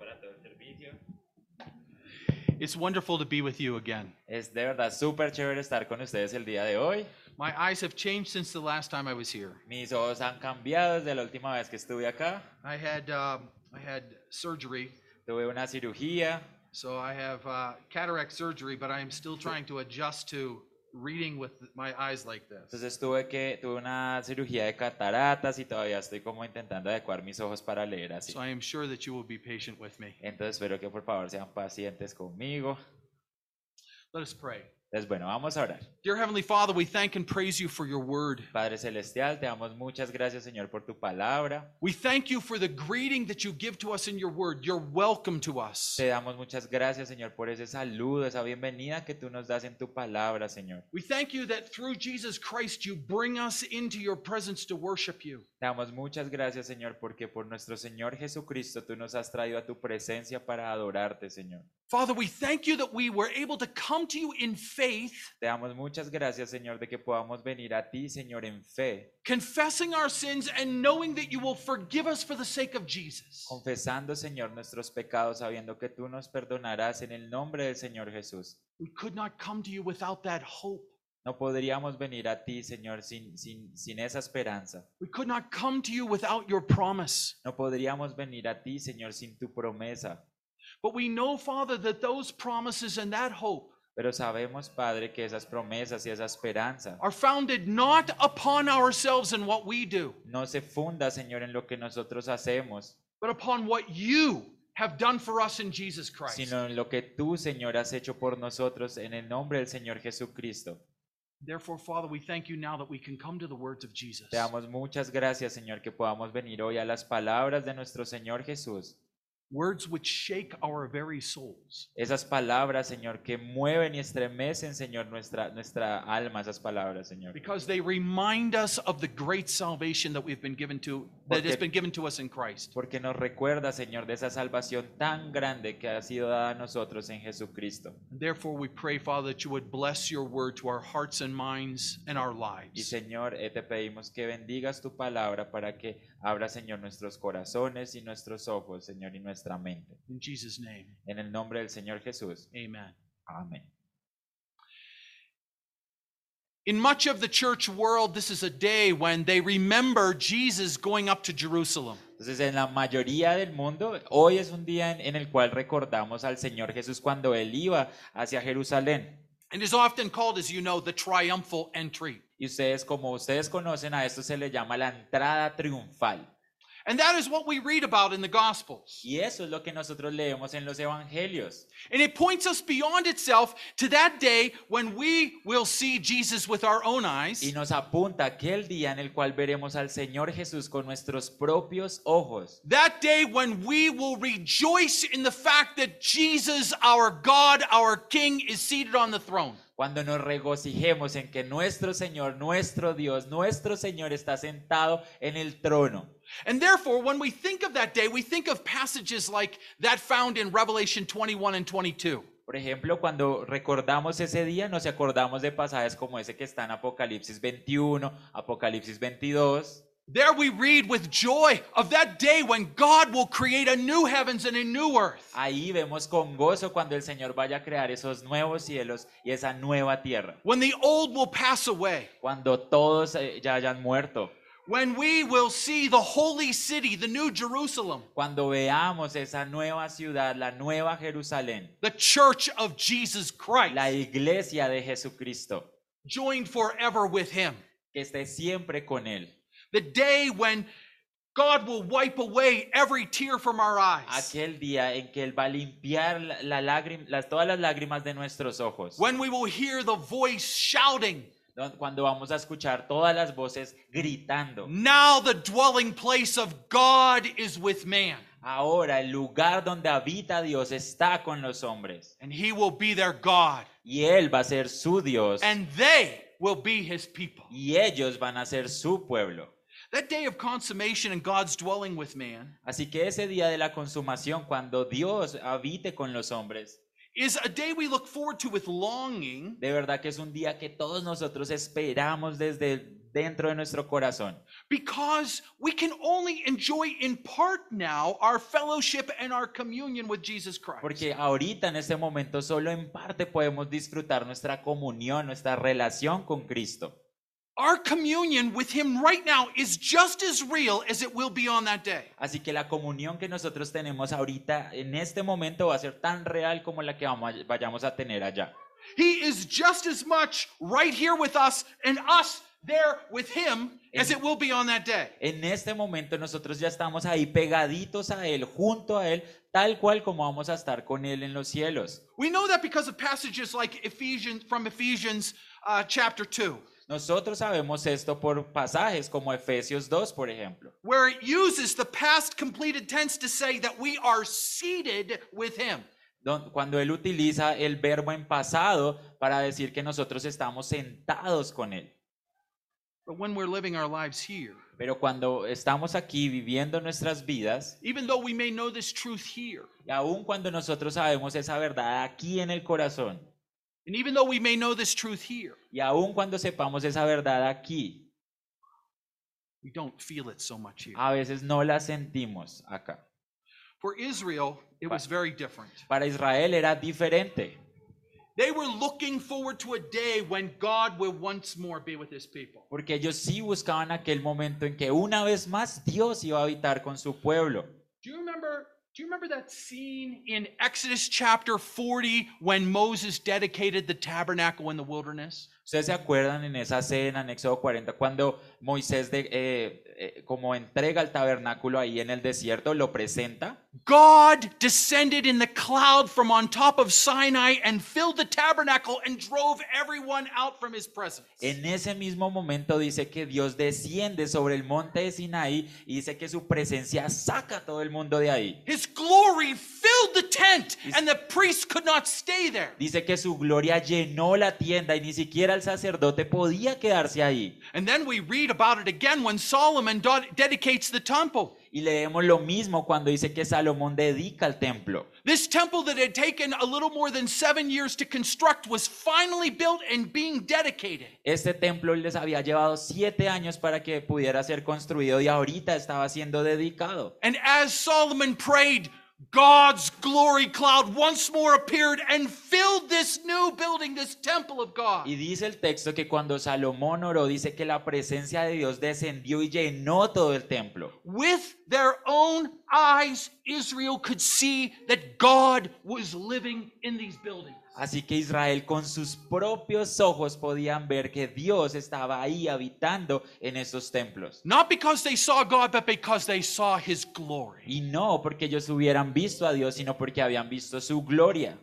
para todo el servicio. It's wonderful to be with you again. Es de verdad súper chévere estar con ustedes el día de hoy. My eyes have changed since the last time I was here. Mis ojos han cambiado desde la última vez que estuve acá. I had surgery, Tuve una cirugía, so I have cataract surgery, but I am still trying to adjust to reading with my eyes like this. entonces tuve una cirugía de cataratas y todavía estoy como intentando adecuar mis ojos para leer así. So I am sure that you will be patient with me. Entonces espero que por favor sean pacientes conmigo. Let us pray. Entonces bueno, vamos a orar. Dear Heavenly Father, we thank and praise you for your word. Padre Celestial, te damos muchas gracias, Señor, por tu palabra. We thank you for the greeting that you give to us in your word. You're welcome to us. Te damos muchas gracias, Señor, por ese saludo, esa bienvenida que tú nos das en tu palabra, Señor. We thank you that through Jesus Christ you bring us into your presence to worship you. Te damos muchas gracias, Señor, porque por nuestro Señor Jesucristo tú nos has traído a tu presencia para adorarte, Señor. Father, we thank you that we were able to come to you in faith, Te damos muchas gracias, Señor, de que podamos venir a ti, Señor, en fe, confessing our sins and knowing that you will forgive us for the sake of Jesus. confesando, Señor, nuestros pecados, sabiendo que tú nos perdonarás en el nombre del Señor Jesús. We could not come to you without that hope. No podríamos venir a ti, Señor, sin esa esperanza. We could not come to you without your promise. No podríamos venir a ti, Señor, sin tu promesa. But we know, Father, that those promises and that hope Pero sabemos, Padre, que esas promesas y esa esperanza are founded not upon ourselves and what we do, no se funda, Señor, en lo que nosotros hacemos, but upon what you have done for us in Jesus Christ. sino en lo que tú, Señor, has hecho por nosotros en el nombre del Señor Jesucristo. Therefore, Father, we thank you now that we can come to the words of Jesus. Te damos muchas gracias, Señor, que podamos venir hoy a las palabras de nuestro Señor Jesús. Words which shake our very souls. Esas palabras, Señor, que mueven y estremecen, Señor, nuestra alma, esas palabras, Señor. Because they remind us of the great salvation that has been given to us in Christ. Porque nos recuerda, Señor, de esa salvación tan grande que ha sido dada a nosotros en Jesucristo. Therefore, we pray, Father, that you would bless your word to our hearts and minds and our Y lives. Señor, te pedimos que bendigas tu palabra para que abra, Señor, nuestros corazones y nuestros ojos, Señor, y nuestra mente. In Jesus' name, En el nombre del Señor Jesús. amen. Amén. In much of the church world, this is a day when they remember Jesus going up to Jerusalem. Entonces, en la mayoría del mundo, hoy es un día en el cual recordamos al Señor Jesús cuando Él iba hacia Jerusalén. And is often called, as you know, the triumphal entry. Y como ustedes conocen, a esto se le llama la entrada triunfal. And that is what we read about in the Gospels. Y eso es lo que nosotros leemos en los evangelios. And it points us beyond itself to that day when we will see Jesus with our own eyes. Y nos apunta a aquel día en el cual veremos al Señor Jesús con nuestros propios ojos. That day when we will rejoice in the fact that Jesus, our God, our King, is seated on the throne. Cuando nos regocijemos en que nuestro Señor, nuestro Dios, nuestro Señor está sentado en el trono. And therefore, when we think of that day, we think of passages like that found in Revelation 21 and 22. Por ejemplo, cuando recordamos ese día, nos acordamos de pasajes como ese que está en Apocalipsis 21, Apocalipsis 22. There we read with joy of that day when God will create a new heavens and a new earth. Ahí vemos con gozo cuando el Señor vaya a crear esos nuevos cielos y esa nueva tierra. When the old will pass away. Cuando todos ya hayan muerto. When we will see the holy city, the new Jerusalem. Cuando veamos esa nueva ciudad, la nueva Jerusalén. The church of Jesus Christ. La iglesia de Jesucristo. Joined forever with him. Que esté siempre con él. The day when God will wipe away every tear from our eyes. Aquel día en que él va a limpiar todas las lágrimas de nuestros ojos. When we will hear the voice shouting. Cuando vamos a escuchar todas las voces gritando. Now the dwelling place of God is with man. Ahora el lugar donde habita Dios está con los hombres. And he will be their God. Y él va a ser su Dios. And they will be his people. Y ellos van a ser su pueblo. That day of consummation and God's dwelling with man Así que ese día de la consumación, cuando Dios habite con los hombres, is a day we look forward to with longing. de verdad que es un día que todos nosotros esperamos desde dentro de nuestro corazón. Because we can only enjoy in part now our fellowship and our communion with Jesus Christ. Porque ahorita en este momento solo en parte podemos disfrutar nuestra comunión, nuestra relación con Cristo. Our communion with Him right now is just as real as it will be on that day. Así que la comunión que nosotros tenemos ahorita en este momento va a ser tan real como la que vayamos a tener allá. He is just as much right here with us and us there with Him as it will be on that day. En este momento nosotros ya estamos ahí pegaditos a Él, junto a Él, tal cual como vamos a estar con Él en los cielos. We know that because of passages like Ephesians chapter 2. Nosotros sabemos esto por pasajes como Efesios 2, por ejemplo, Where it uses the past completed tense to say that we are seated with Him. cuando Él utiliza el verbo en pasado para decir que nosotros estamos sentados con Él. But when we're living our lives here, Pero cuando estamos aquí viviendo nuestras vidas, even though we may know this truth here, y aun cuando nosotros sabemos esa verdad aquí en el corazón, and even though we may know this truth here, y aun cuando sepamos esa verdad aquí, we don't feel it so much here. a veces no la sentimos acá. For Israel, it was very different. Para Israel era diferente. They were looking forward to a day when God will once more be with His people. Porque ellos sí buscaban aquel momento en que una vez más Dios iba a habitar con su pueblo. Do you remember that scene in Exodus chapter 40 when Moses dedicated the tabernacle in the wilderness? ¿Ustedes se acuerdan en esa escena en Éxodo 40 cuando Moisés como entrega el tabernáculo ahí en el desierto, lo presenta? God descended in the cloud from on top of Sinai and filled the tabernacle and drove everyone out from His presence. En ese mismo momento dice que Dios desciende sobre el monte de Sinaí y dice que su presencia saca a todo el mundo de ahí. His glory filled the tent and the priests could not stay there. Dice que su gloria llenó la tienda y ni siquiera el sacerdote podía quedarse ahí. And then we read about it again when Solomon dedicates the temple. Y leemos lo mismo cuando dice que Salomón dedica el templo. This temple that had taken a little more than 7 years to construct was finally built and being dedicated. Este templo les había llevado 7 años para que pudiera ser construido y ahorita estaba siendo dedicado. And as Solomon prayed, God's glory cloud once more appeared and filled this new building, this temple of God. Y dice el texto que cuando Salomón oró, dice que la presencia de Dios descendió y llenó todo el templo. With their own eyes, Israel could see that God was living in these buildings. Así que Israel con sus propios ojos podían ver que Dios estaba ahí habitando en esos templos. Not because they saw God, but because they saw His glory. Y no porque ellos hubieran visto a Dios, sino porque habían visto su gloria.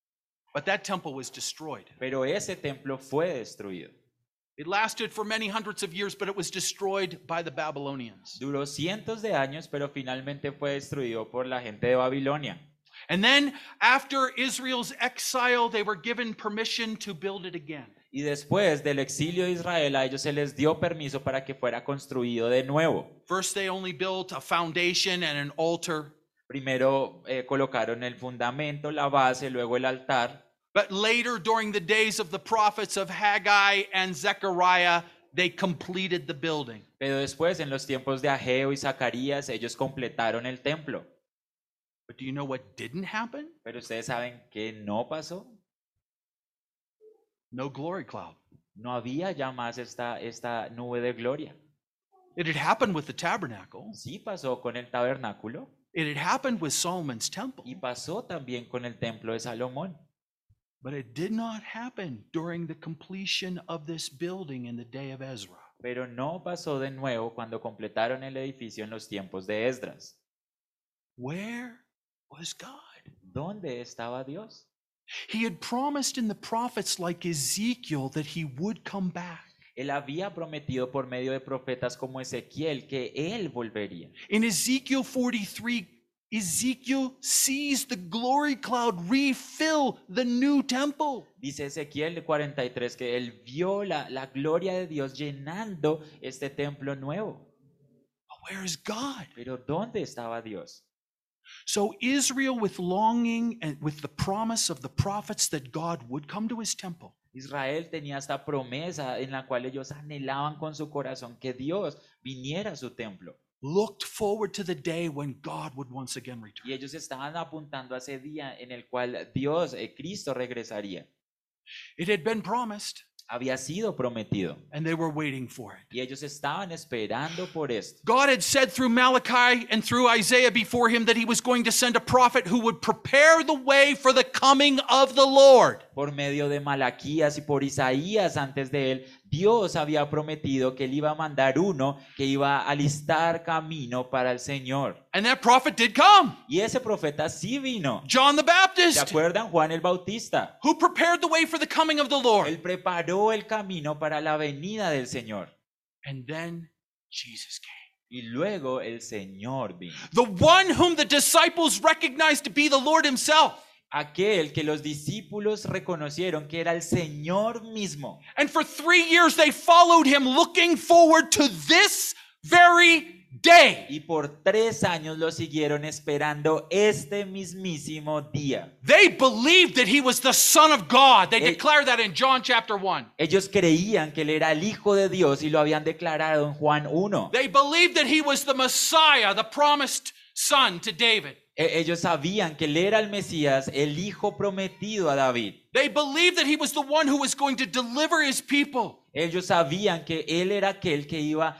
But that temple was destroyed. Pero ese templo fue destruido. It lasted for many hundreds of years, but it was destroyed by the Babylonians. Duró cientos de años, pero finalmente fue destruido por la gente de Babilonia. And then, after Israel's exile, they were given permission to build it again. Y después del exilio de Israel, a ellos se les dio permiso para que fuera construido de nuevo. First, they only built a foundation and an altar. Primero colocaron el fundamento, la base, luego el altar. But later, during the days of the prophets of Haggai and Zechariah, they completed the building. Pero después, en los tiempos de Ageo y Zacarías, ellos completaron el templo. But do you know what didn't happen? Pero ustedes saben que no pasó. No glory cloud. No había ya más esta nube de gloria. It had happened with the tabernacle. Sí pasó con el tabernáculo It had happened with Solomon's temple. y pasó también con el templo de Salomón. But it did not happen during the completion of this building in the day of Ezra. Pero no pasó de nuevo cuando completaron el edificio en los tiempos de Esdras. Where was God? ¿Dónde estaba Dios? He had promised in the prophets like Ezekiel that He would come back. Él había prometido por medio de profetas como Ezequiel que Él volvería. In Ezekiel 43, Ezekiel sees the glory cloud refill the new temple. Dice Ezequiel 43 que él vio la gloria de Dios llenando este templo nuevo. But where is God? Pero ¿dónde estaba Dios? So Israel, with longing and with the promise of the prophets that God would come to His temple, Israel tenía esta promesa en la cual ellos anhelaban con su corazón que Dios viniera a su templo. looked forward to the day when God would once again return. Y ellos estaban apuntando a ese día en el cual Dios, Cristo, regresaría. It had been promised, Había sido prometido. and they were waiting for it. Y ellos estaban esperando por esto. God had said through Malachi and through Isaiah before him that he was going to send a prophet who would prepare the way for the coming of the Lord. Por medio de Malaquías y por Isaías antes de él, Dios había prometido que él iba a mandar uno que iba a alistar camino para el Señor. And that prophet did come. Y ese profeta sí vino. John the ¿Se Baptist, acuerdan? Juan el Bautista. who prepared the way for the coming of the Lord. Él preparó el camino para la venida del Señor. And then Jesus came. Y luego el Señor vino. The one whom the disciples recognized to be the Lord himself. Aquel que los discípulos reconocieron que era el Señor mismo. And for 3 years they followed him, looking forward to this very day. Y por 3 años lo siguieron esperando este mismísimo día. They believed that he was the Son of God. They Hey. declare that in John chapter 1. Ellos creían que él era el Hijo de Dios y lo habían declarado en Juan 1. They believed that he was the Messiah, the promised son to David. Ellos sabían que él era el Mesías, el Hijo prometido a David. They believed that he was the one who was going to deliver his people. Ellos sabían que él era aquel que iba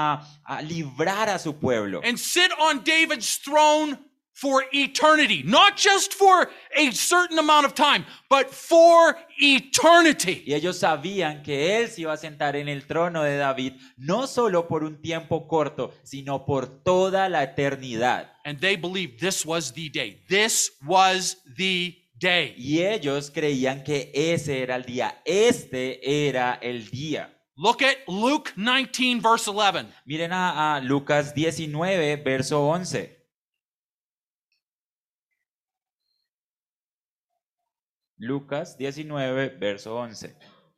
a librar a su pueblo. And sit on David's throne for eternity. Not just for a certain amount of time, but for eternity. Y ellos sabían que él se iba a sentar en el trono de David, no solo por un tiempo corto, sino por toda la eternidad. And they believed this was the day. This was the day. Y ellos creían que ese era el día, este era el día. Look at Luke 19, verse 11. Miren a Lucas 19, verso 11. Lucas 19, verso 11.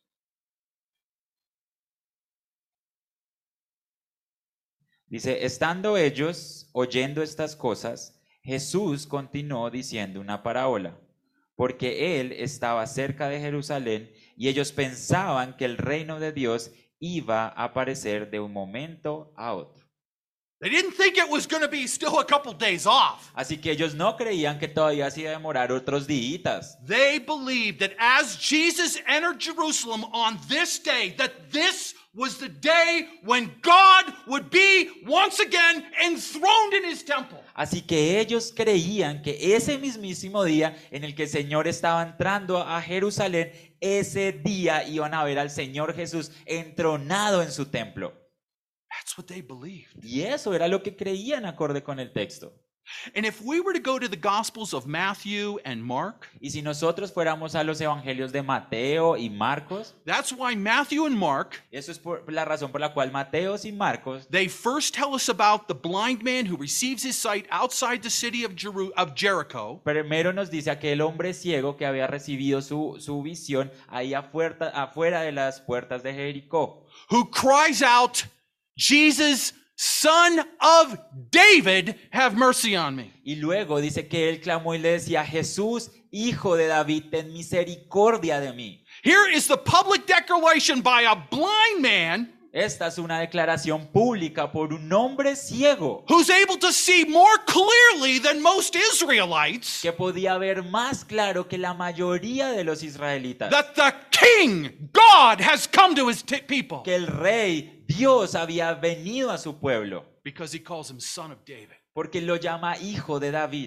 Dice, estando ellos oyendo estas cosas, Jesús continuó diciendo una parábola, porque él estaba cerca de Jerusalén y ellos pensaban que el reino de Dios iba a aparecer de un momento a otro. They didn't think it was going to be still a couple days off. Así que ellos no creían que todavía se iba a demorar otros días. They believed that as Jesus entered Jerusalem on this day, that this was the day when God would be once again enthroned in his temple. Así que ellos creían que ese mismísimo día en el que el Señor estaba entrando a Jerusalén, ese día iban a ver al Señor Jesús entronado en su templo. That's what they believed. Y eso era lo que creían acorde con el texto. And if we were to go to the Gospels of Matthew and Mark, Y si nosotros fuéramos a los evangelios de Mateo y Marcos, that's why Matthew and Mark, eso es la razón por la cual Mateo y Marcos, they first tell us about the blind man who receives his sight outside the city of Jericho. primero nos dice aquel hombre ciego que había recibido su visión ahí afuera de las puertas de Jericó, Who cries out, Jesus, Son of David, have mercy on me. y luego dice que él clamó y le decía, Jesús, hijo de David, ten misericordia de mí. Here is the public declaration by a blind man Esta es una declaración pública por un hombre ciego who's able to see more clearly than most Israelites que podía ver más claro que la mayoría de los israelitas that the King, God, has come to his people que el rey Dios había venido a su pueblo because he calls him Son of David. porque lo llama hijo de David.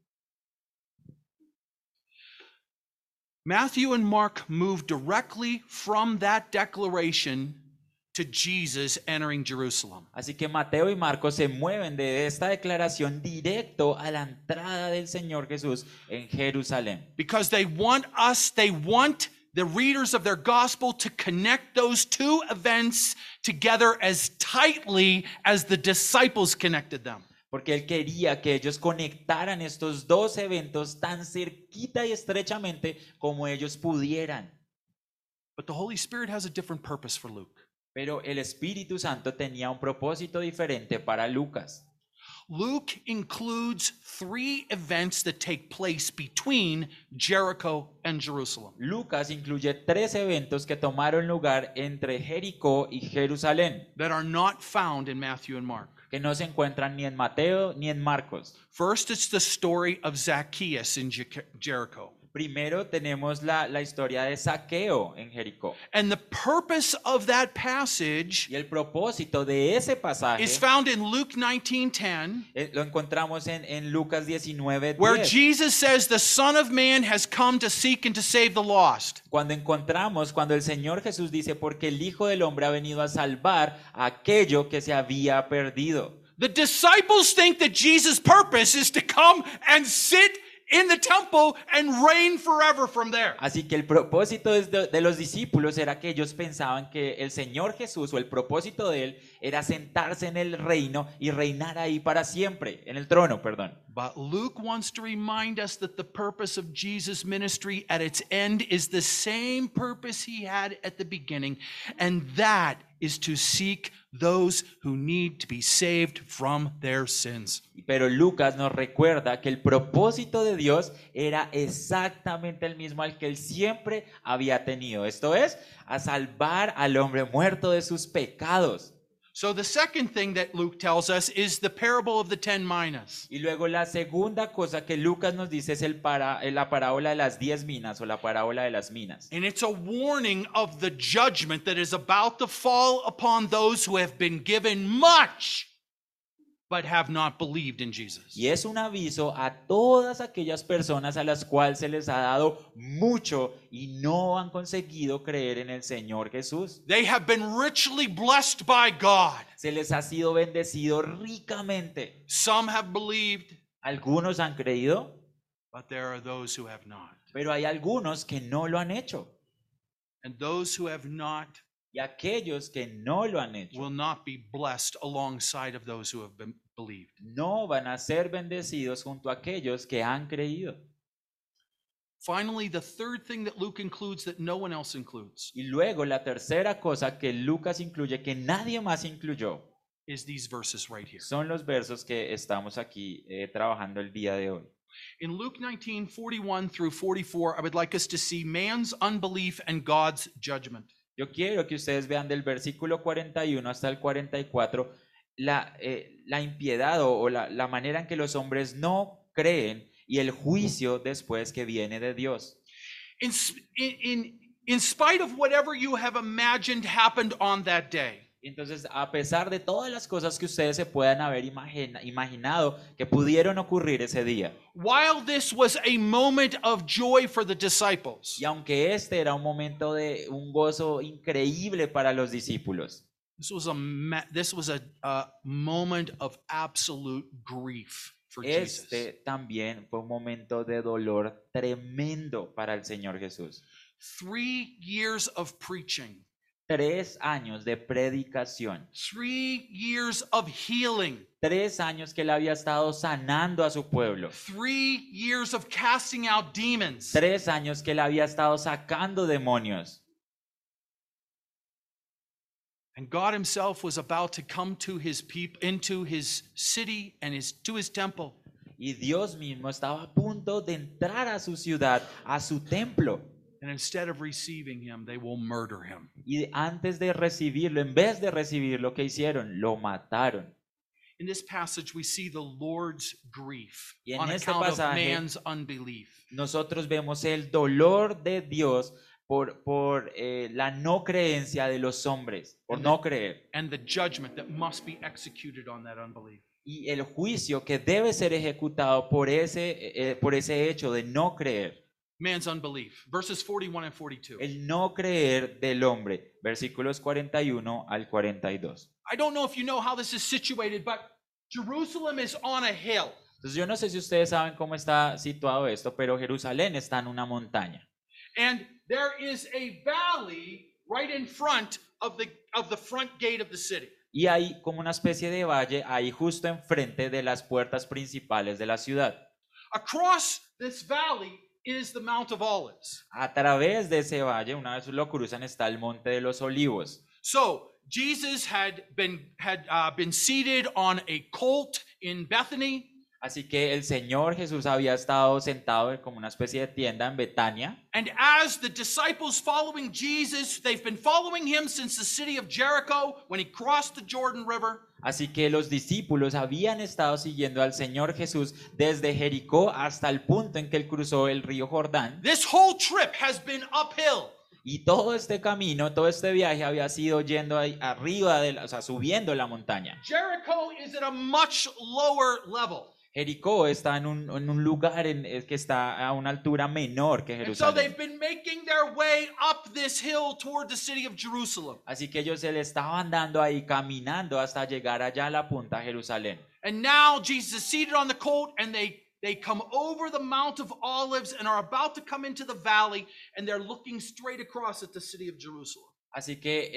Matthew and Mark move directly from that declaration to Jesus entering Jerusalem. Así que Mateo y Marcos se mueven de esta declaración directo a la entrada del Señor Jesús en Jerusalén. Because they want the readers of their gospel to connect those two events together as tightly as the disciples connected them. Porque él quería que ellos conectaran estos dos eventos tan cerquita y estrechamente como ellos pudieran. But the Holy Spirit has a different purpose for Luke. Pero el Espíritu Santo tenía un propósito diferente para Lucas. Luke includes 3 events that take place between Jericho and Jerusalem. Lucas incluye 3 eventos que tomaron lugar entre Jericó y Jerusalén, That are not found in Matthew and Mark. que no se encuentran ni en Mateo ni en Marcos. First, it's the story of Zacchaeus in Jericho. Primero tenemos la historia de Zaqueo en Jericó. And the purpose of that passage Y el propósito de ese pasaje is found in Luke 19:10, lo encontramos en Lucas 19:10, where Jesus says the Son of Man has come to seek and to save the lost. cuando el Señor Jesús dice, porque el Hijo del Hombre ha venido a salvar a aquello que se había perdido. The disciples think that Jesus' purpose is to come and sit in the temple and reign forever from there. Así que el propósito de los discípulos era que ellos pensaban que el Señor Jesús, o el propósito de él, era sentarse en el reino y reinar ahí para siempre, en el trono, perdón. But Luke wants to remind us that the purpose of Jesus' ministry at its end is the same purpose he had at the beginning, and that is to seek those who need to be saved from their sins. Pero Lucas nos recuerda que el propósito de Dios era exactamente el mismo al que él siempre había tenido. Esto es, a salvar al hombre muerto de sus pecados. So the second thing that Luke tells us is the parable of the 10 minas. Y luego la segunda cosa que Lucas nos dice es la parábola de las 10 minas o la parábola de las minas. And it's a warning of the judgment that is about to fall upon those who have been given much but have not believed in Jesus. Y es un aviso a todas aquellas personas a las cuales se les ha dado mucho y no han conseguido creer en el Señor Jesús. They have been richly blessed by God. Se les ha sido bendecido ricamente. Some have believed, Algunos han creído, but there are those who have not. pero hay algunos que no lo han hecho. And those who have not Y aquellos que no lo han hecho will not be blessed alongside of those who have been believed. no van a ser bendecidos junto a aquellos que han creído. Finally, the third thing that Luke includes that no one else includes Y luego la tercera cosa que Lucas incluye, que nadie más incluyó, is these verses right here. son los versos que estamos aquí trabajando el día de hoy. In Luke 19:41 through 44, I would like us to see man's unbelief and God's judgment. Yo quiero que ustedes vean del versículo 41 hasta el 44 la impiedad o la manera en que los hombres no creen y el juicio después que viene de Dios. In spite of whatever you have imagined happened on that day, Entonces, a pesar de todas las cosas que ustedes se puedan haber imaginado que pudieron ocurrir ese día, while this was a moment of joy for the disciples, y aunque este era un momento de un gozo increíble para los discípulos, this was a moment of absolute grief for Jesus. este también fue un momento de dolor tremendo para el Señor Jesús. 3 years of preaching, 3 años de predicación, 3 years of healing, 3 años que él había estado sanando a su pueblo, 3 years of casting out demons. 3 años que él había estado sacando demonios. And God himself was about to come to his people, into his city and to his temple. Y Dios mismo estaba a punto de entrar a su ciudad, a su templo. And instead of receiving him, they will murder him. Y antes de recibirlo, en vez de recibirlo, ¿qué hicieron? Lo mataron. In this passage, we see the Lord's grief Y en on este account of pasaje, man's unbelief. Nosotros vemos el dolor de Dios por la no creencia de los hombres, por no creer. And the judgment that must be executed on that unbelief. Y el juicio que debe ser ejecutado por ese hecho de no creer. Man's unbelief. Verses 41 and 42. El no creer del hombre. Versículos 41 al 42. I don't know if you know how this is situated, but Jerusalem is on a hill. Entonces yo no sé si ustedes saben cómo está situado esto, pero Jerusalén está en una montaña. And there is a valley right in front of the front gate of the city. Y hay como una especie de valle ahí justo enfrente de las puertas principales de la ciudad. Across this valley is the Mount of Olives. A través de ese valle, una vez lo cruzan, está el Monte de los Olivos. So Jesus had been seated on a colt in Bethany. Así que el Señor Jesús había estado sentado como una especie de tienda en Betania. And as the disciples following Jesus, they've been following him since the city of Jericho when he crossed the Jordan River. Así que los discípulos habían estado siguiendo al Señor Jesús desde Jericó hasta el punto en que él cruzó el río Jordán. This whole trip has been uphill. Y todo este camino, todo este viaje había sido yendo ahí arriba, o sea, subiendo la montaña. Jericho is at a much lower level. Jericó está en un lugar que está a una altura menor que And so they've Jerusalén. been making their way up this hill toward the city of Jerusalem. Así que ellos se le estaban dando ahí caminando hasta llegar allá a la punta de Jerusalén. And now Jesus is seated on the colt, and they come over the Mount of Olives and are about to come into the valley, and they're looking straight across at the city of Jerusalem. Así que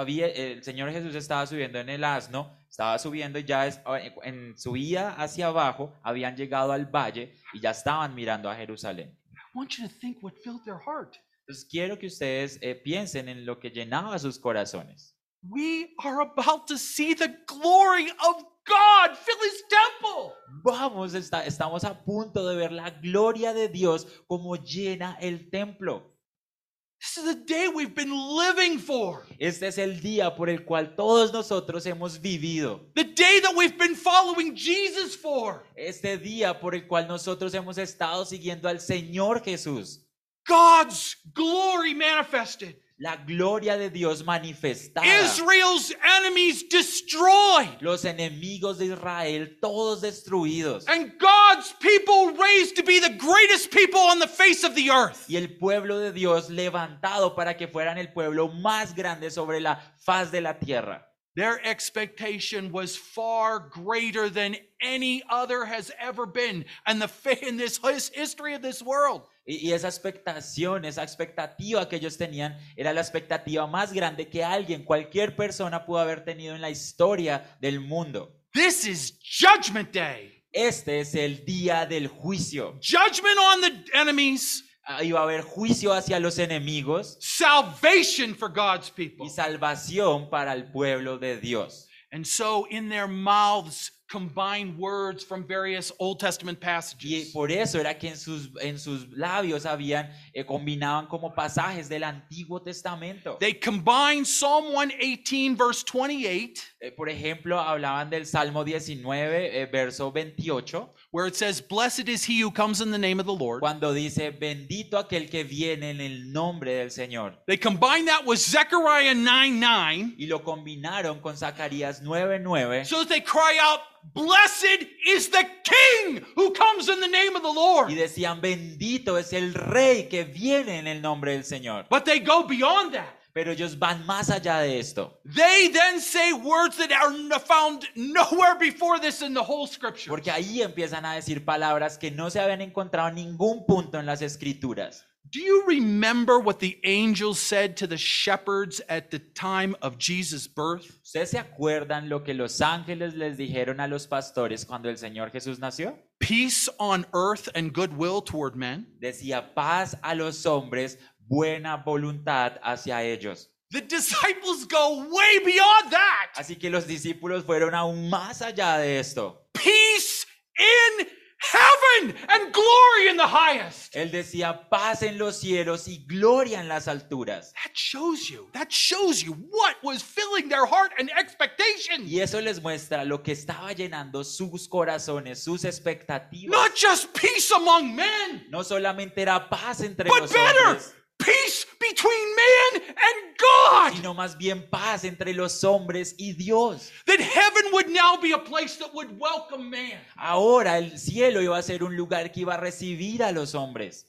el Señor Jesús estaba subiendo en el asno, estaba subiendo y ya en subida hacia abajo habían llegado al valle y ya estaban mirando a Jerusalén. I want you to think what filled their heart. Entonces quiero que ustedes piensen en lo que llenaba sus corazones. We are about to see the glory of God fill his temple. Vamos, estamos a punto de ver la gloria de Dios como llena el templo. This is the day we've been living for. Este es el día por el cual todos nosotros hemos vivido. The day that we've been following Jesus for. Este día por el cual nosotros hemos estado siguiendo al Señor Jesús. God's glory manifested. La gloria de Dios manifestada. Israel's enemies destroyed. Los enemigos de Israel todos destruidos. And God's people raised to be the greatest people on the face of the earth. Y el pueblo de Dios levantado para que fueran el pueblo más grande sobre la faz de la tierra. Their expectation was far greater than any other has ever been in this history of this world. Y esa expectación, esa expectativa que ellos tenían era la expectativa más grande que cualquier persona pudo haber tenido en la historia del mundo. This is Judgment Day. Este es el día del juicio. Judgment on the enemies. Iba a haber juicio hacia los enemigos Salvation for God's people. y salvación para el pueblo de Dios. And so in their mouths combine words from various Old Testament Y passages. por eso era que en sus labios combinaban como pasajes del Antiguo Testamento. They combine Psalm 118 verse 28, Por ejemplo, hablaban del Salmo 19, verso 28, where it says, "Blessed is he who comes in the name of the Lord." cuando dice, bendito aquel que viene en el nombre del Señor. They combine that with Zechariah 9:9, Y lo combinaron con Zacarías 9:9, so that they cry out, "Blessed is the King who comes in the name of the y Lord." decían, bendito es el Rey que viene en el nombre del Señor. But they go beyond that. Pero ellos van más allá de esto, They then say words that are found nowhere before this in the whole scripture. porque ahí empiezan a decir palabras que no se habían encontrado en ningún punto en las Escrituras. Do you remember what the angels said to the shepherds at the time of Jesus' birth? ¿Ustedes se acuerdan lo que los ángeles les dijeron a los pastores cuando el Señor Jesús nació? Peace on earth and goodwill toward men. Decía, paz a los hombres, buena voluntad hacia ellos. The disciples go way beyond that. Así que los discípulos fueron aún más allá de esto. Peace in heaven and glory in the highest. Él decía, paz en los cielos y gloria en las alturas. That shows you what was filling their heart and expectation. Y eso les muestra lo que estaba llenando sus corazones, sus expectativas. Not just peace among men, No solamente era paz entre but los better, hombres, peace between man and God. sino más bien paz entre los hombres y Dios. That heaven would now be a place that would welcome man. Ahora el cielo iba a ser un lugar que iba a recibir a los hombres.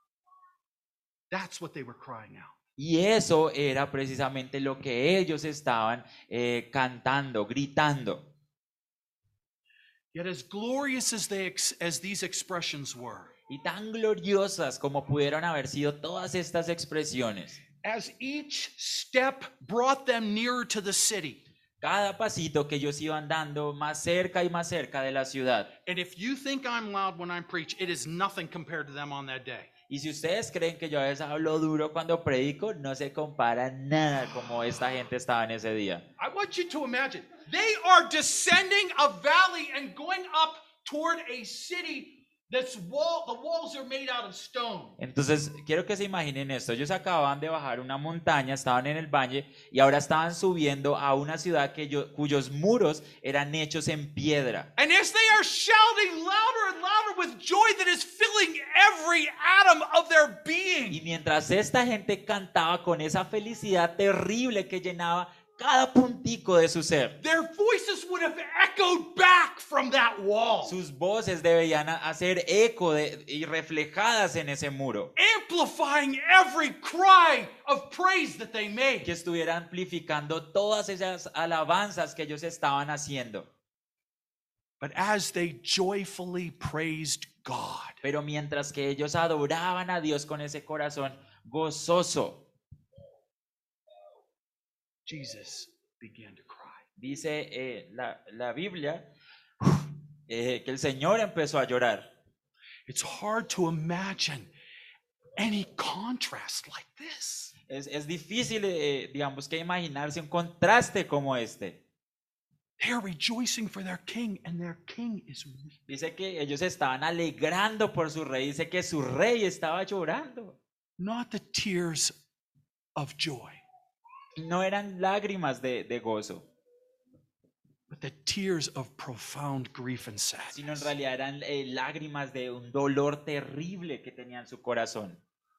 That's what they were crying out. Y eso era precisamente lo que ellos estaban cantando, gritando. Yet as glorious as these expressions were, Y tan gloriosas como pudieron haber sido todas estas expresiones, as each step brought them nearer to the city. cada pasito que ellos iban dando más cerca y más cerca de la ciudad. And if you think I'm loud when I preach, it is nothing compared to them on that day. Y si ustedes creen que yo a veces hablo duro cuando predico, no se compara nada como esta gente estaba en ese día. I want you to imagine they are descending a valley and going up toward a city that's the walls are made out of stone. Entonces, quiero que se imaginen esto. Ellos acababan de bajar una montaña, estaban en el valle y ahora estaban subiendo a una ciudad cuyos muros eran hechos en piedra. And as they are shouting louder and louder with joy that is filling every atom of their Y being, mientras esta gente cantaba con esa felicidad terrible que llenaba cada puntico de su ser, their voices would have echoed back from that wall, sus voces debían hacer eco y reflejadas en ese muro, amplifying every cry of praise that they made. que estuviera amplificando todas esas alabanzas que ellos estaban haciendo. But as they joyfully praised God, Pero mientras que ellos adoraban a Dios con ese corazón gozoso, Jesus began to cry. dice la Biblia que el Señor empezó a llorar. It's hard to imagine any contrast like this. Es difícil, digamos, que imaginarse un contraste como este. They are rejoicing for their king, and their king is weeping. Dice que ellos estaban alegrando por su rey. Dice que su rey estaba llorando. Not the tears of joy, No eran lágrimas de gozo, but the tears of profound grief and sino en sadness. realidad eran lágrimas de un dolor terrible que tenía en su corazón.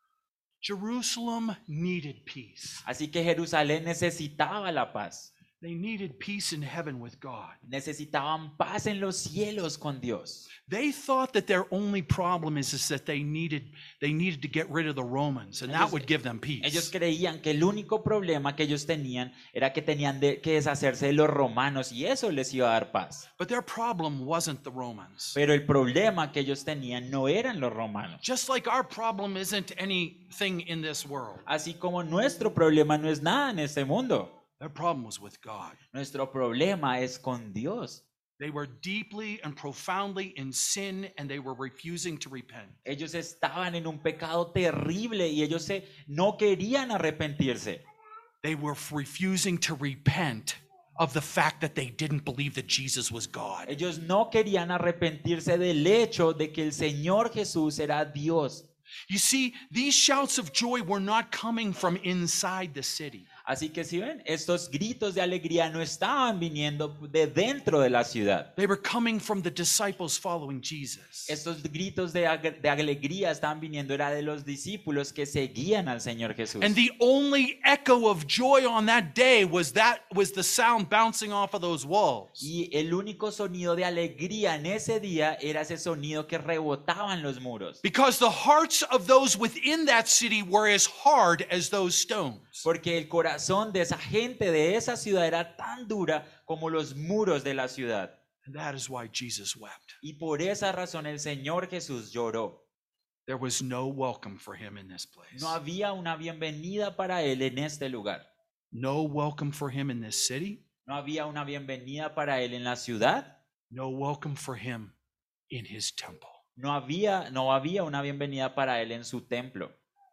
Jerusalem needed peace. Así que Jerusalén necesitaba la paz. They needed peace in heaven with God. Necesitaban paz en los cielos con Dios. They thought that their only problem is that they needed to get rid of the Romans, and that would give them Ellos peace. creían que el único problema que ellos tenían era que tenían que deshacerse de los romanos y eso les iba a dar paz. But their problem wasn't the Romans. Pero el problema que ellos tenían no eran los romanos. Just like our problem isn't anything in this world. Así como nuestro problema no es nada en este mundo. Their problem was with God. Nuestro problema es con Dios. They were deeply and profoundly in sin, and they were refusing to repent. Ellos estaban en un pecado terrible y ellos no querían arrepentirse. They were refusing to repent of the fact that they didn't believe that Jesus was God. Ellos no querían arrepentirse del hecho de que el Señor Jesús era Dios. You see, these shouts of joy were not coming from inside the city. Así que si ven, estos gritos de alegría no estaban viniendo de dentro de la ciudad. They were coming from the disciples following Jesus. Estos gritos de alegría estaban viniendo era de los discípulos que seguían al Señor Jesús. And the only echo of joy on that day was the sound bouncing off of those walls. Y el único sonido de alegría en ese día era ese sonido que rebotaba en los muros. Because the hearts of those within that city were as hard as those stones. Porque el corazón de esa gente de esa ciudad era tan dura como los muros de la ciudad. And that is why Jesus wept. Y por esa razón el Señor Jesús lloró. There was no welcome for him in this place. No había una bienvenida para él en este lugar. No welcome for him in this city. No había una bienvenida para él en la ciudad. No welcome for him in his temple. No había una bienvenida para él en su templo.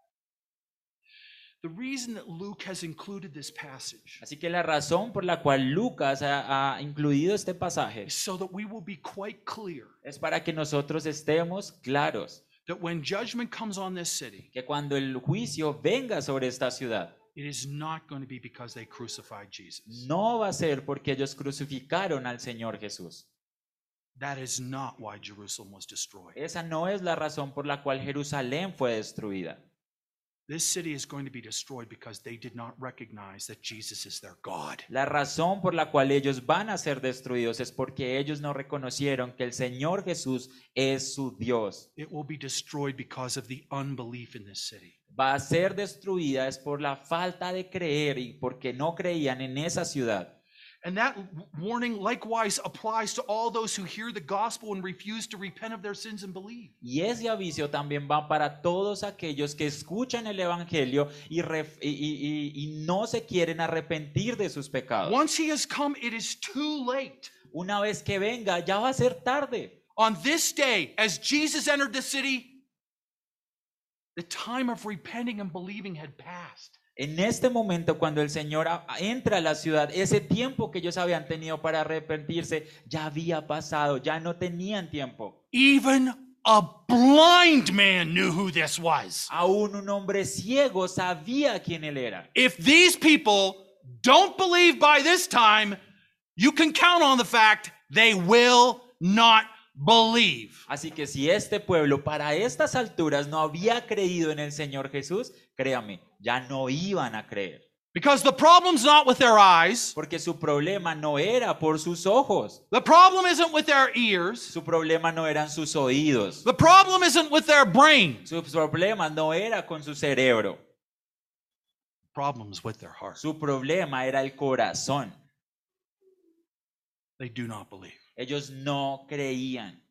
The reason that Luke has included this passage Así que la razón por la cual Lucas ha incluido este pasaje is so that we will be quite clear es para que nosotros estemos claros that when judgment comes on this city, que cuando el juicio venga sobre esta ciudad, it is not going to be because they crucified Jesus. no va a ser porque ellos crucificaron al Señor Jesús. That is not why Jerusalem was destroyed. Esa no es la razón por la cual Jerusalén fue destruida. This city is going to be destroyed because they did not recognize that Jesus is their God. La razón por la cual ellos van a ser destruidos es porque ellos no reconocieron que el Señor Jesús es su Dios. It will be destroyed because of the unbelief in this city. Va a ser destruida es por la falta de creer y porque no creían en esa ciudad. And that warning likewise applies to all those who hear the gospel and refuse to repent of their sins and believe. Y ese aviso también va para todos aquellos que escuchan el evangelio y no se quieren arrepentir de sus pecados. Once he has come, it is too late. Una vez que venga, ya va a ser tarde. On this day, as Jesus entered the city, The time of repenting and believing had passed. En este momento, cuando el Señor entra a la ciudad, ese tiempo que ellos habían tenido para arrepentirse ya había pasado, ya no tenían tiempo. Even a blind man knew who this was. Aún un hombre ciego sabía quién él era. If these people don't believe by this time, you can count on the fact they will not believe. Así que si este pueblo para estas alturas no había creído en el Señor Jesús, créame, ya no iban a creer. Because the problem's not with their eyes. Porque su problema no era por sus ojos. The problem isn't with their ears. Su problema no eran sus oídos. The problem isn't with their brain. Su problema no era con su cerebro. The problem's with their heart. Su problema era el corazón. They do not believe. Ellos no creían.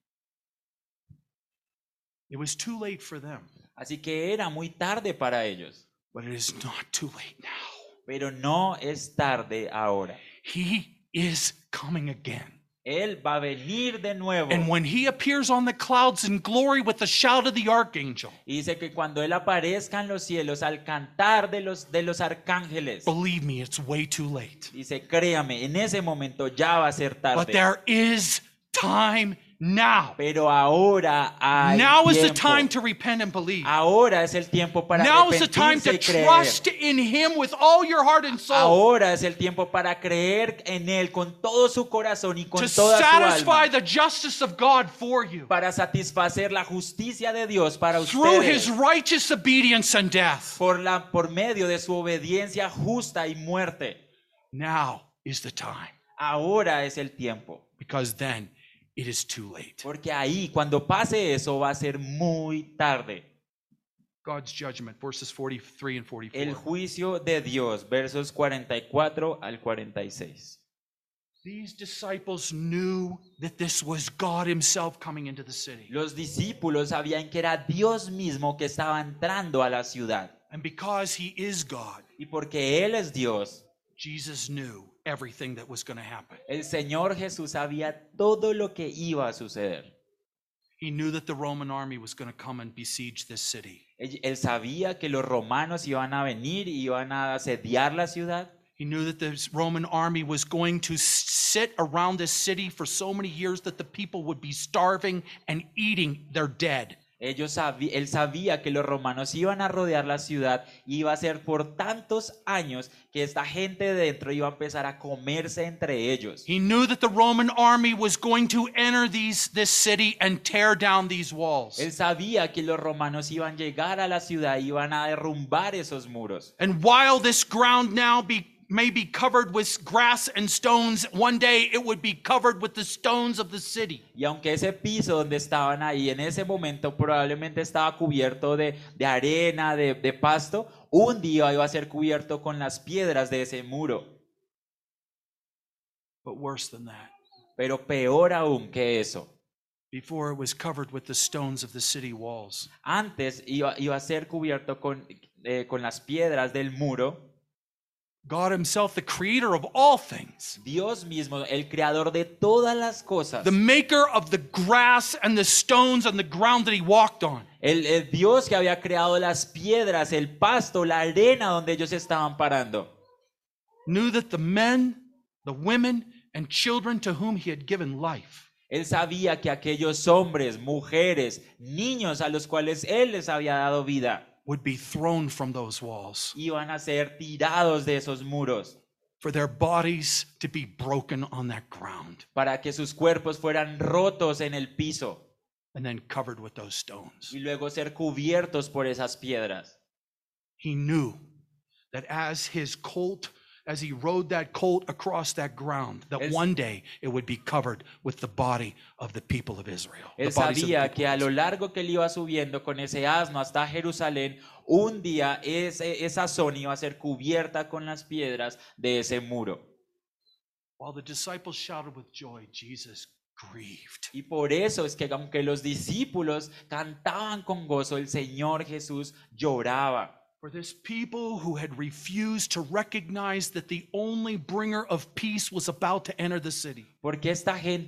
It was too late for them. Así que era muy tarde para ellos. But it is not too late now. Pero no es tarde ahora. He is coming again. Él va a venir de nuevo. And when he appears on the clouds in glory with the shout of the archangel, Y dice que cuando Él aparezca en los cielos al cantar de los arcángeles, believe me, it's way too late. dice, créame, en ese momento ya va a ser But tarde. there is time now. Pero ahora hay Now is the tiempo. time to repent and believe. Ahora es el tiempo para Now is the time arrepentirse to y creer. trust in him with all your heart and soul. Ahora es el tiempo para creer en Él con todo su corazón y con To toda su satisfy alma. the justice of God for you. Para satisfacer la justicia de Dios para Through his ustedes. righteous obedience and death. Por medio de su obediencia justa y muerte. Now is the time. Ahora es el tiempo. Because then it is too late. Porque ahí, cuando pase eso, va a ser muy tarde. God's judgment, verses 43 and 44. El juicio de Dios, versos 44 al 46. These disciples knew that this was God himself coming into the city. Los discípulos sabían que era Dios mismo que estaba entrando a la ciudad. And because he is God, Y porque Él es Dios, Jesus knew everything that was going to happen. el Señor Jesús sabía todo lo que iba a suceder. He knew that the Roman army was going to come and besiege this city. Él sabía que los romanos iban a venir y iban a asediar la ciudad. He knew that the Roman army was going to sit around this city for so many years that the people would be starving and eating their dead. Él sabía que los romanos iban a rodear la ciudad y iba a ser por tantos años que esta gente de dentro iba a empezar a comerse entre ellos. He knew that the Roman army was going to enter this city and tear down these walls. Él sabía que los romanos iban a llegar a la ciudad y iban a derrumbar esos muros. And while this ground now may be covered with grass and stones, one day it would be covered with the stones of the city. Y aunque ese piso donde estaban ahí en ese momento probablemente estaba cubierto de arena, de pasto, un día iba a ser cubierto con las piedras de ese muro. But worse than that, Pero peor aún que eso, before it was covered with the stones of the city walls, antes iba a ser cubierto con las piedras del muro. God himself, the creator of all things, Dios mismo, el creador de todas las cosas, the maker of the grass and the stones and the ground that he walked on, el Dios que había creado las piedras, el pasto, la arena donde ellos estaban parando, knew that the men, the women, and children to whom he had given life Él sabía que aquellos hombres, mujeres, niños a los cuales Él les había dado vida, would be thrown from those walls, iban a ser tirados de esos muros for their bodies to be broken on that ground para que sus cuerpos fueran rotos en el piso and then covered with those stones. y luego ser cubiertos por esas piedras. He knew that as he rode that colt across that ground, that one day it would be covered with the body of the people of Israel. Él sabía que a lo largo que él iba subiendo con ese asno hasta Jerusalén, un día esa zona iba a ser cubierta con las piedras de ese muro. While the disciples shouted with joy, Jesus grieved. Y por eso es que aunque los discípulos cantaban con gozo, el Señor Jesús lloraba. For this people who had refused to recognize that the only bringer of peace was about to enter the city. Porque esta gente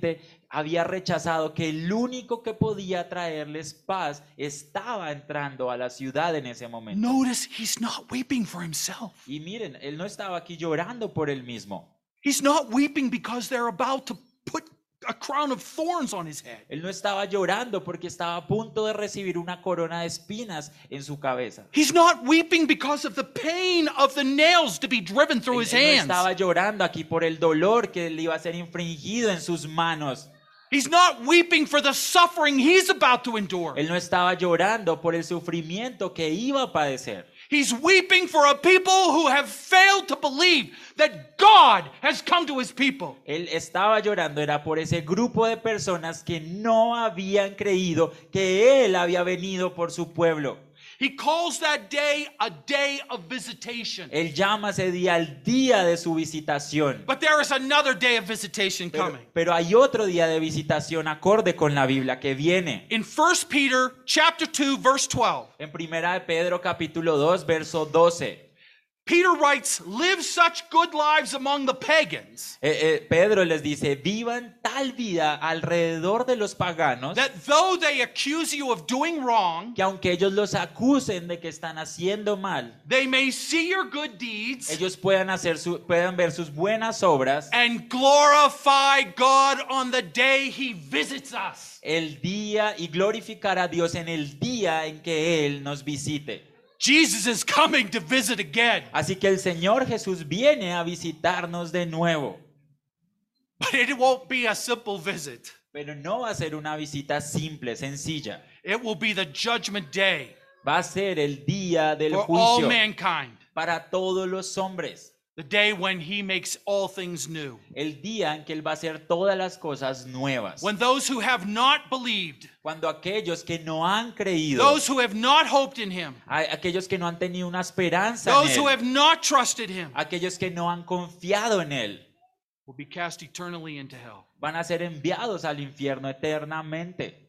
había rechazado que el único que podía traerles paz estaba entrando a la ciudad en ese momento. Notice he's not weeping for himself. Y miren, él no estaba aquí llorando por él mismo. He's not weeping because they're about to put a crown of thorns on his head. Él no estaba llorando porque estaba a punto de recibir una corona de espinas en su cabeza. He's not weeping because of the pain of the nails to be driven through his Él no hands. estaba llorando aquí por el dolor que le iba a ser infringido en sus manos. He's not weeping for the suffering he's about to endure. Él no estaba llorando por el sufrimiento que iba a padecer. He's weeping for a people who have failed to believe that God has come to his people. Él estaba llorando era por ese grupo de personas que no habían creído que Él había venido por su pueblo. He calls that day a day of visitation. Él llama ese día el día de su visitación. But there is another day of visitation coming. Pero hay otro día de visitación acorde con la Biblia que viene. In 1 Peter chapter 2 verse 12. En Primera de Pedro capítulo 2 verso 12. Peter writes, live such good lives among the pagans. Pedro les dice, vivan tal vida alrededor de los paganos, That though they accuse you of doing wrong, que aunque ellos los acusen de que están haciendo mal, they may see your good deeds ellos puedan ver sus buenas obras and glorify God on the day he visits us. el día y glorificar a Dios en el día en que Él nos visite. Jesus is coming to visit again. Así que el Señor Jesús viene a visitarnos de nuevo, But it won't be a simple visit. pero no va a ser una visita simple, sencilla. It will be the judgment day Va a ser el día del for all juicio mankind. para todos los hombres. The day when he makes all things new. El día en que Él va a hacer todas las cosas nuevas. When those who have not believed, Cuando aquellos que no han creído, those who have not hoped in him, aquellos que no han tenido una esperanza those en who Él, have not trusted him, aquellos que no han confiado en Él, will be cast eternally into hell. van a ser enviados al infierno eternamente.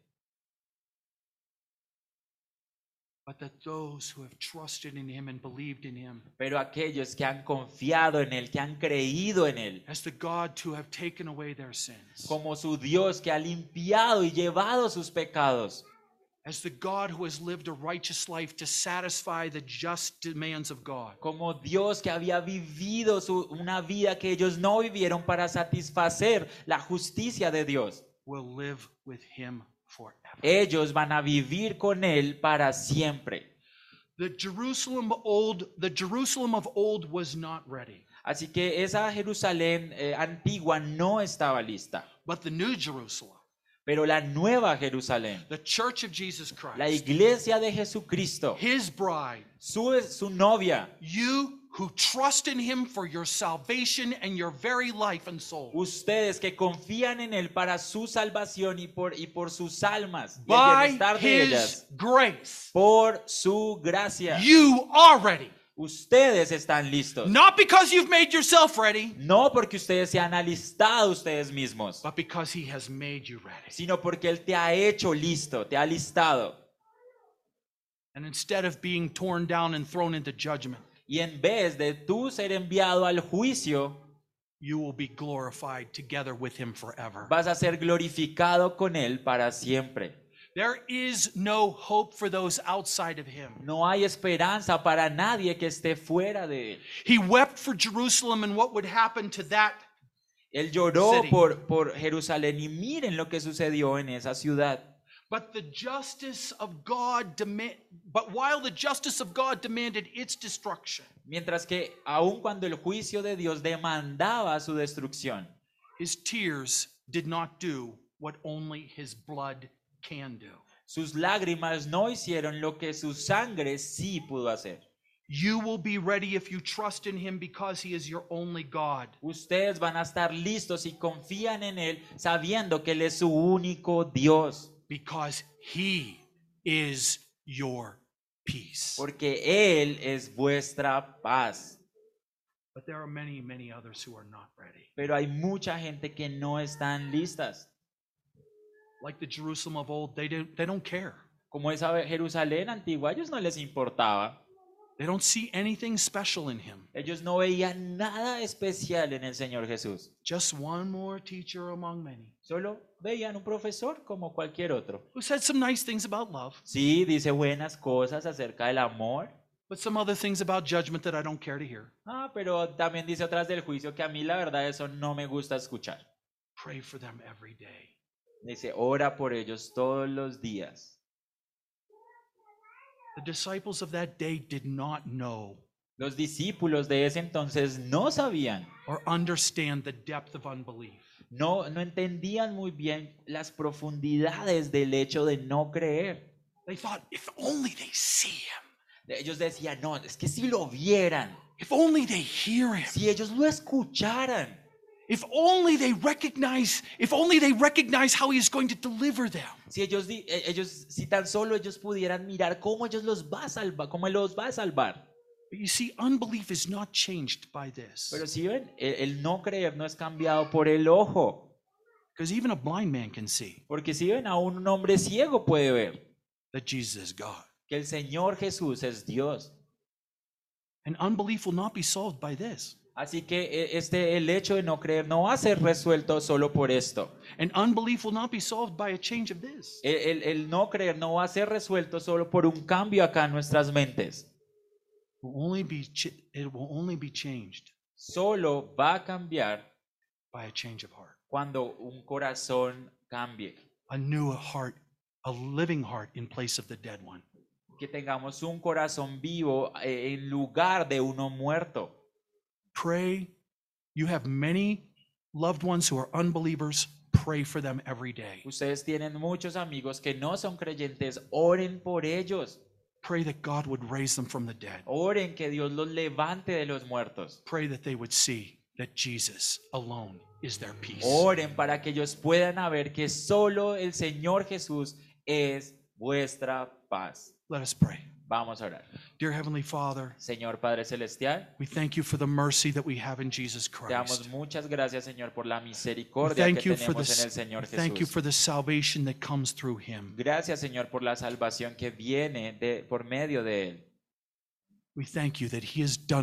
But that those who have trusted in him and believed in him, Pero aquellos que han confiado en Él, que han creído en Él, as the God to have taken away their sins, como su Dios que ha limpiado y llevado sus pecados, as the God who has lived a righteous life to satisfy the just demands of God, como Dios que había vivido una vida que ellos no vivieron para satisfacer la justicia de Dios. will live with him forever. Ellos van a vivir con Él para siempre. The Jerusalem of old was not ready, Así que esa Jerusalén antigua no estaba lista. but the new Jerusalem, Pero la nueva Jerusalén, the church of Jesus la Christ, iglesia de Jesucristo, his bride, su novia, you who trust in him for your salvation and your very life and soul, ustedes que confían en Él para su salvación y por sus almas y el by bienestar de his ellas, grace, por su gracia, you are ready. ustedes están listos. Not because you've made yourself ready, No porque ustedes se han alistado ustedes mismos, but because he has made you ready. sino porque Él te ha hecho listo, te ha alistado. And instead of being torn down and thrown into judgment, Y en vez de tú ser enviado al juicio, you will be glorified together with him forever. vas a ser glorificado con Él para siempre. There is no hope for those outside of him. No hay esperanza para nadie que esté fuera de Él. He wept for Jerusalem and what would happen to that. Él lloró City. por Jerusalén y miren lo que sucedió en esa ciudad. But while the justice of God demanded its destruction, Mientras que aun cuando el juicio de Dios demandaba su destrucción, his tears did not do what only his blood can do. sus lágrimas no hicieron lo que su sangre sí pudo hacer. You will be ready if you trust in him because he is your only God. Ustedes van a estar listos y confían en Él sabiendo que Él es su único Dios. Because he is your peace. Porque Él es vuestra paz. But there are many, many others who are not ready. Pero hay mucha gente que no están listas. Like the Jerusalem of old, they don't care. Como esa Jerusalén antigua, a ellos no les importaba. They don't see anything special in him. Ellos no veían nada especial en el Señor Jesús. Just one more teacher among many Solo veían un profesor como cualquier otro. who said some nice things about love, Sí, dice buenas cosas acerca del amor. but some other things about judgment that I don't care to hear. Pero también dice otras del juicio que a mí la verdad eso no me gusta escuchar. Pray for them every day. Dice, ora por ellos todos los días. The disciples of that day did not know Los discípulos de ese entonces no sabían, or understand the depth of unbelief. no entendían muy bien las profundidades del hecho de no creer. They thought, if only they see him, Ellos decían, no, es que si lo vieran, if only they hear him, si ellos lo escucharan, if only they recognize how he is going to deliver them. si tan solo ellos pudieran mirar cómo ellos los va a salvar, cómo él los va a salvar. But you see, unbelief is not changed by this. Pero si ven, el no creer no es cambiado por el ojo. Because even a blind man can see Porque si ven, aún un hombre ciego puede ver that Jesus is God. que el Señor Jesús es Dios. And unbelief will not be solved by this. Así que el hecho de no creer no va a ser resuelto solo por esto. And unbelief will not be solved by a change of this. El no creer no va a ser resuelto solo por un cambio acá en nuestras mentes. It will only be changed Solo va a cambiar by a change of heart. cuando un corazón cambie. A new heart, a living heart in place of the dead one. Que tengamos un corazón vivo en lugar de uno muerto. Pray. You have many loved ones who are unbelievers. Pray for them every day. Ustedes tienen muchos amigos que no son creyentes. Oren por ellos. Pray that God would raise them from the dead. Oren que Dios los levante de los muertos. Pray that they would see that Jesus alone is their peace. Oren para que ellos puedan ver que solo el Señor Jesús es vuestra paz. Let us pray. Vamos a orar. Dear Heavenly Father, Señor Padre Celestial, we thank you for the mercy that we have in Jesus te damos Christ. muchas gracias, Señor, por la We misericordia thank que you for tenemos en el this. Señor Thank you Jesús. for the salvation that comes through him. Gracias, Señor, por la salvación que viene por medio de Él. We thank you that he has done